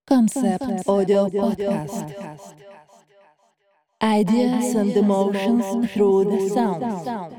Concept Audio Podcast. Ideas and emotions through the sound.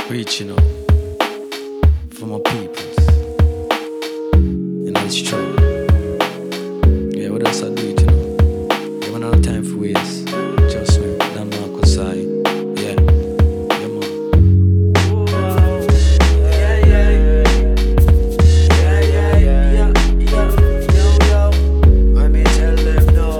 Reaching out for my peoples. And it's true. Yeah, what else I do it, Yeah, when I have time for waste. Just me, Dan Marcus side. Yeah, yeah, man. Let me tell them no.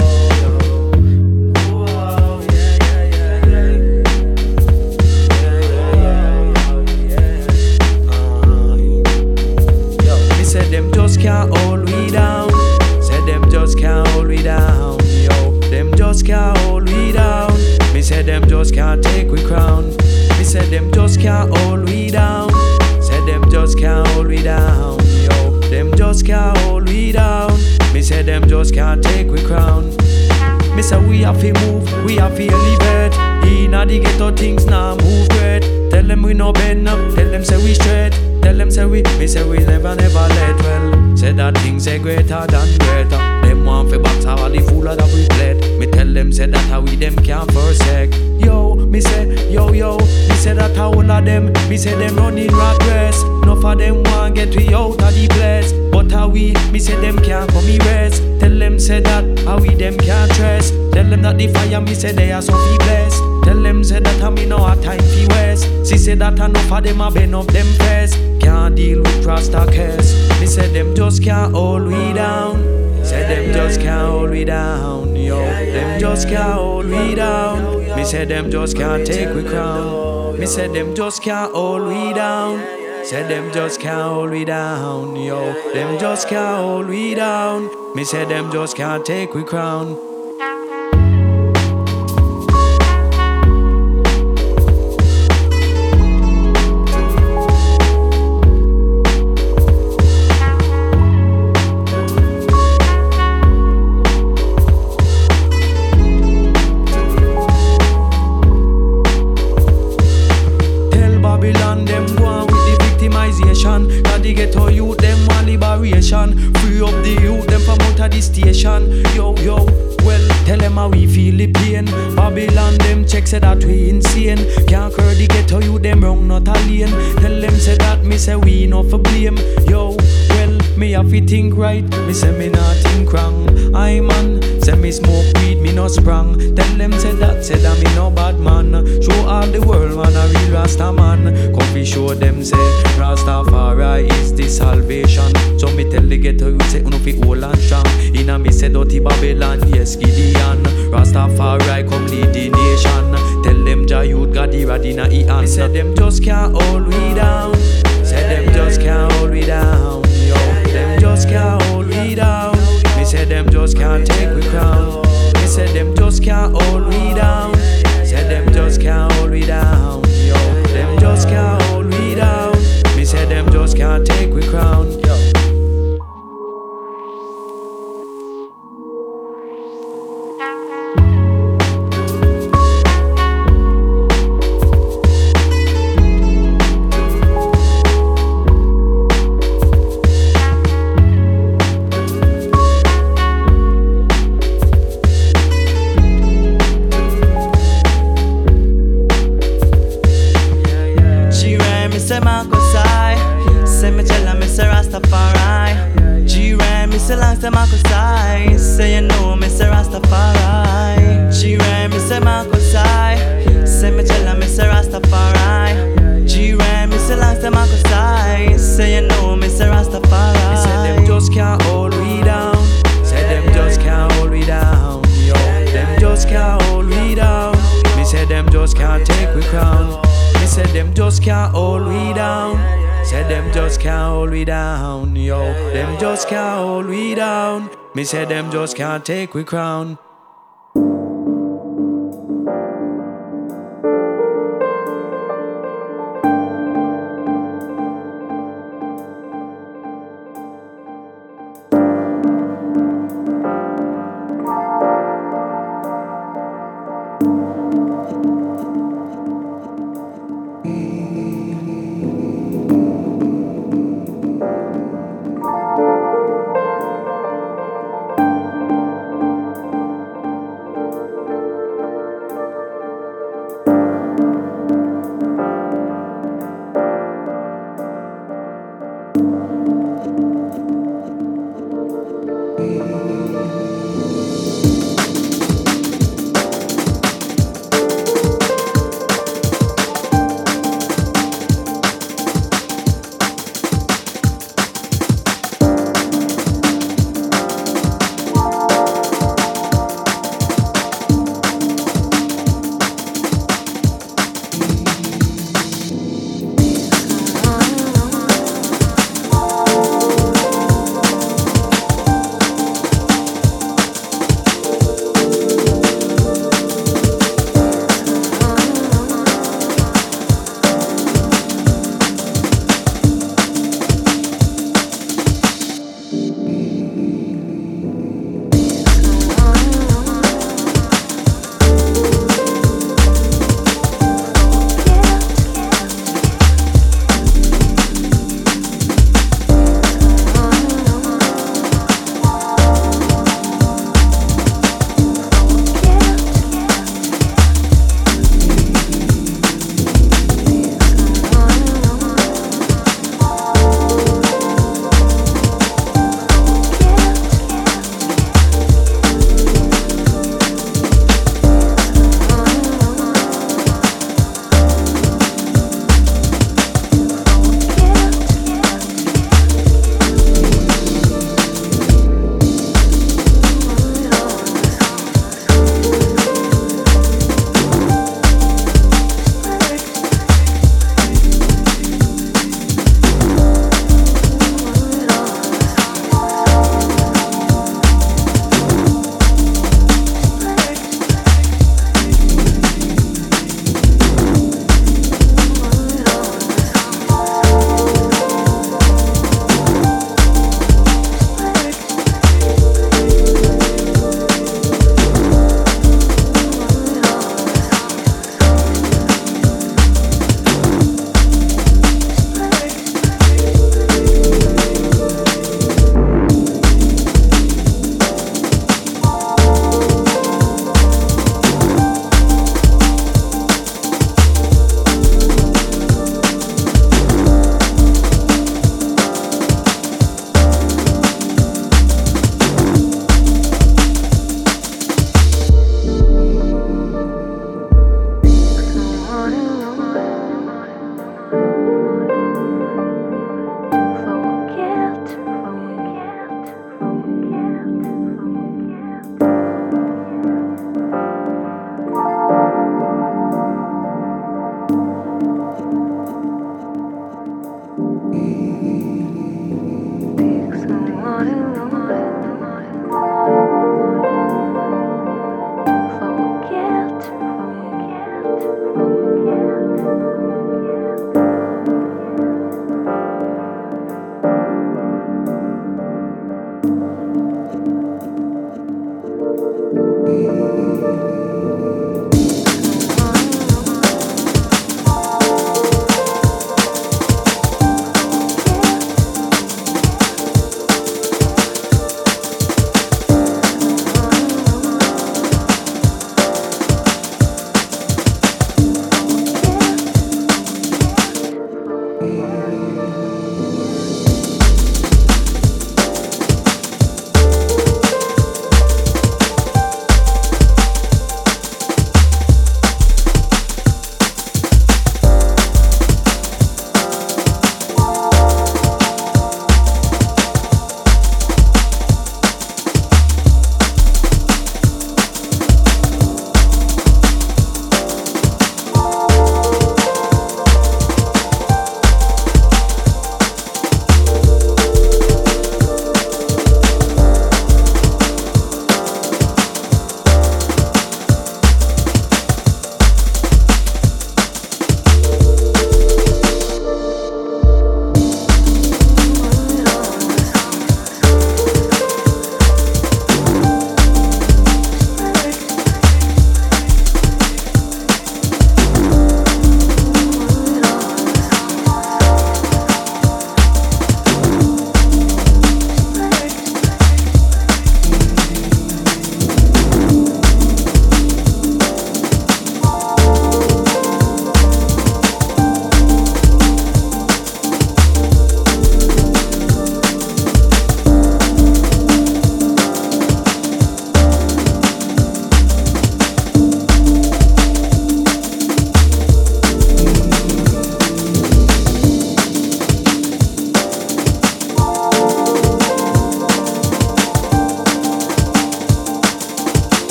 Said them just can't hold we down. Said them just can't hold we down. Yo, them just can't hold we down. Me said them just can't take we crown. Me said them just can't hold we down. Said them just can't hold we down. Yo, them just can't hold we down. Me said them just can't take we crown. Me say we have to move, we have to elevate. Inna the ghetto things now move great. Tell them we no bend up, tell them say we straight. Tell them say me say we never let. Well, say that things say greater than greater. Them want fi box all the fool that we played. Me tell them say that how we them can't forsake. Yo, me say me say that how all of them. Me say them running rat race. Enough of them want get we out of the place. But how we, me say them can't come erase. Tell them say that how we them can't trace. Tell them that the fire me say they are so fi blessed. Tell them say that I me no have time fi waste. She say that enough of them a bend up them face. Can't deal with Rasta case. Me say them just can't hold we down. Say them just can't hold we down. Yo, them just can't hold we down. Me say them just can't take we crown. Me say them just can't hold we down. Say them just can't hold we down. Yo, them just can't hold we down. Me say them just can't take we crown. Babylon, them go on with the victimization. Cause the ghetto youth, them want liberation. Free up the youth, them from out of the station. Yo, well, tell them how we feel the pain. Babylon, them check say that we insane. Can't curb the ghetto youth, them wrong, not a lane. Tell them say that, me say we not for blame. Yo, well, me have to think right. Me say me not think wrong. I man, say me smoke weed, me no sprang. Tell them say that me no bad man. Show all the world man a real Rasta man. Come be show them say Rastafari is the salvation. So me tell the ghetto you say uno fi hold and strong. Inna me say dirty Babylon, yes Gideon. Rastafari come lead the nation. Tell them Jah youth got the rod inna he hand. Me say them just can't hold we down. Say them just can't hold we down. Yo, them just can't hold we down. Me say them just can't take we crown. Me say them just can't hold we down. Say them just can't hold we down. Yo, them just can't hold we down. Me say them just can't take we crown. Say Marcus I, say me tell her me say Rastafari. G-Ray me say long say Marcus I, say you know me say Rastafari. G-Ray me say Marcus I, say me tell her me say Rastafari. G-Ray me say long say Marcus I, say you know me say Rastafari. Me say them just can't hold we down. Say them just can't hold we down. Yo, them just can't hold we down. Me say them just can't take we crown. Me say them just can't hold we down. Say them just can't hold we down. Yo, them just can't hold we down. Me say them just can't take we crown.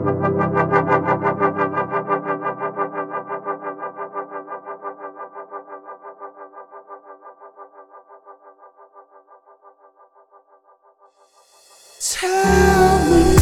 Tell me.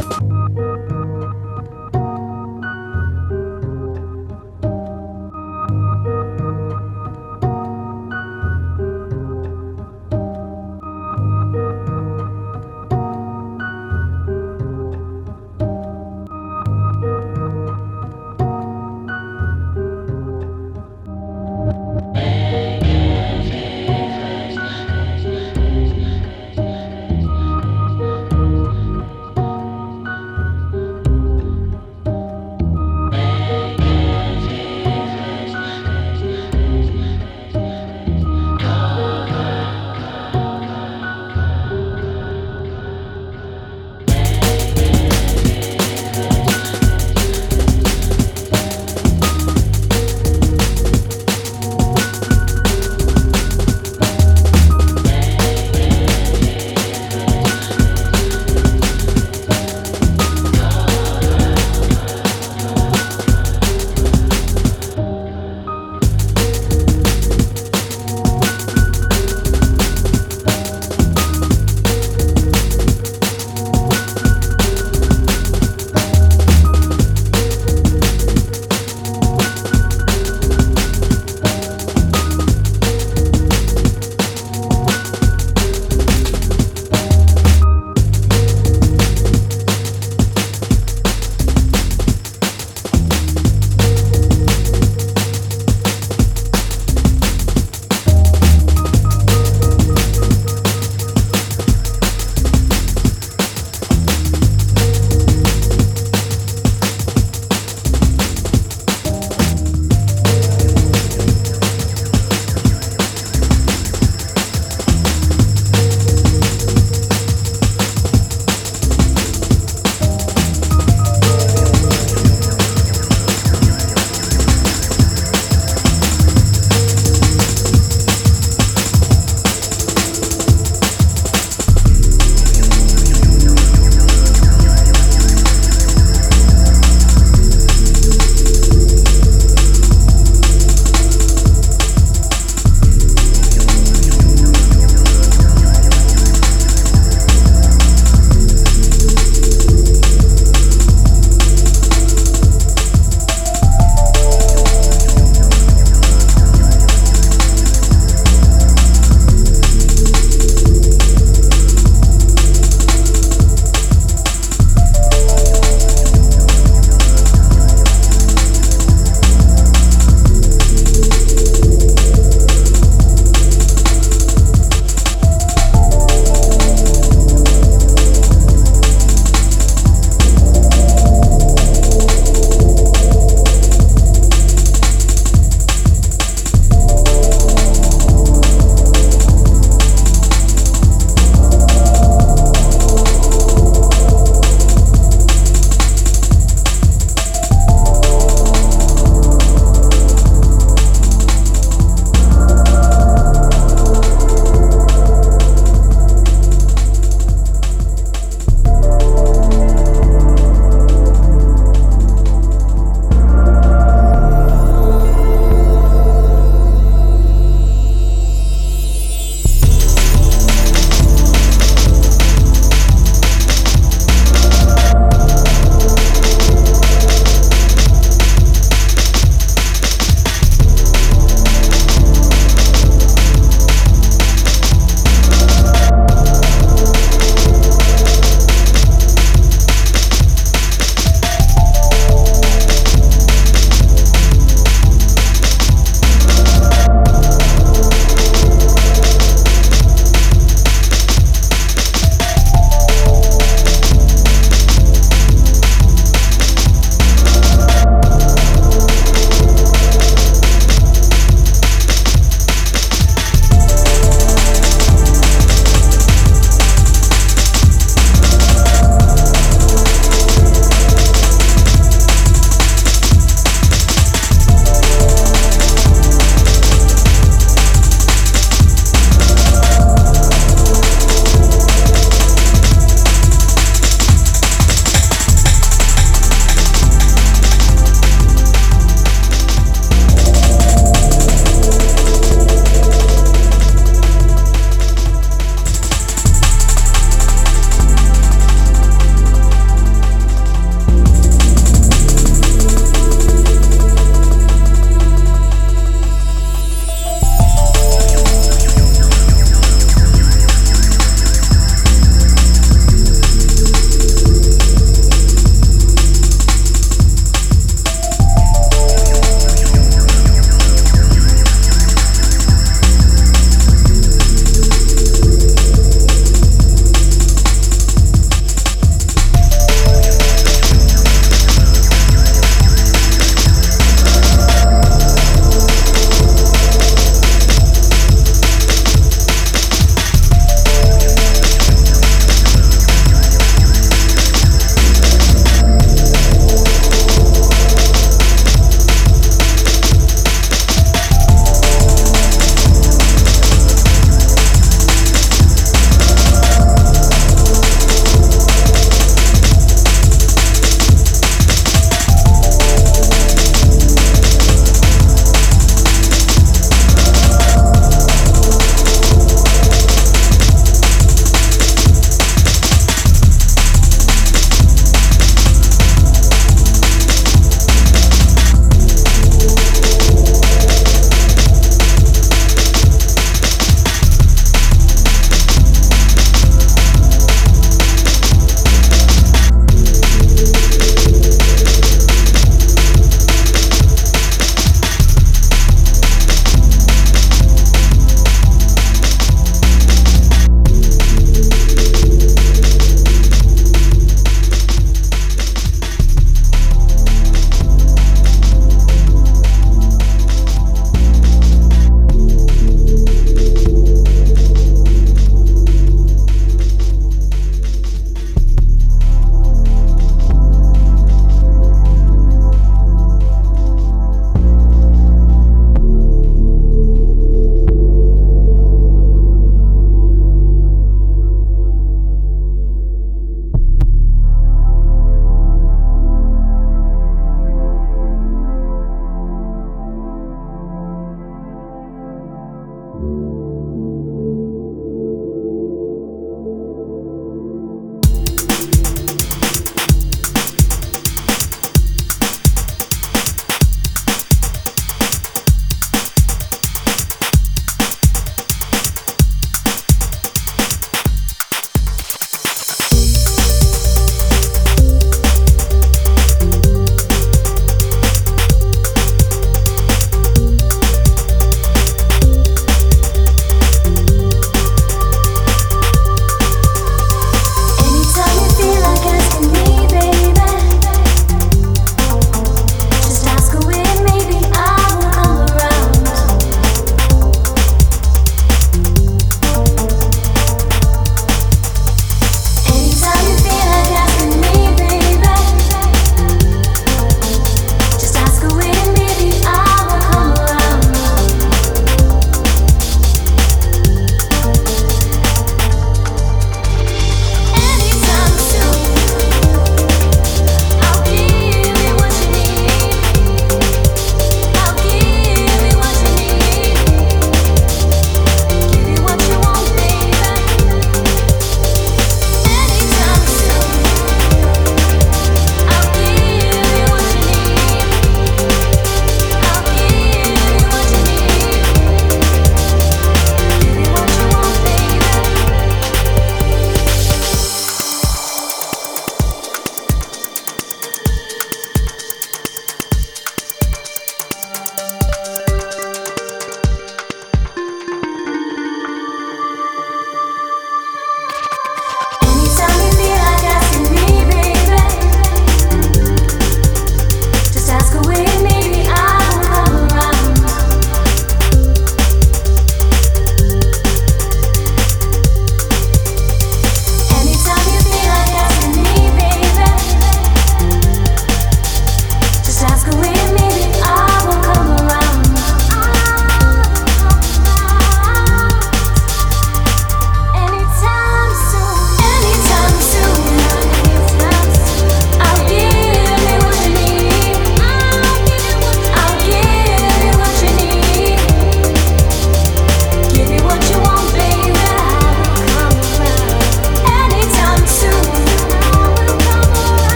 Yo.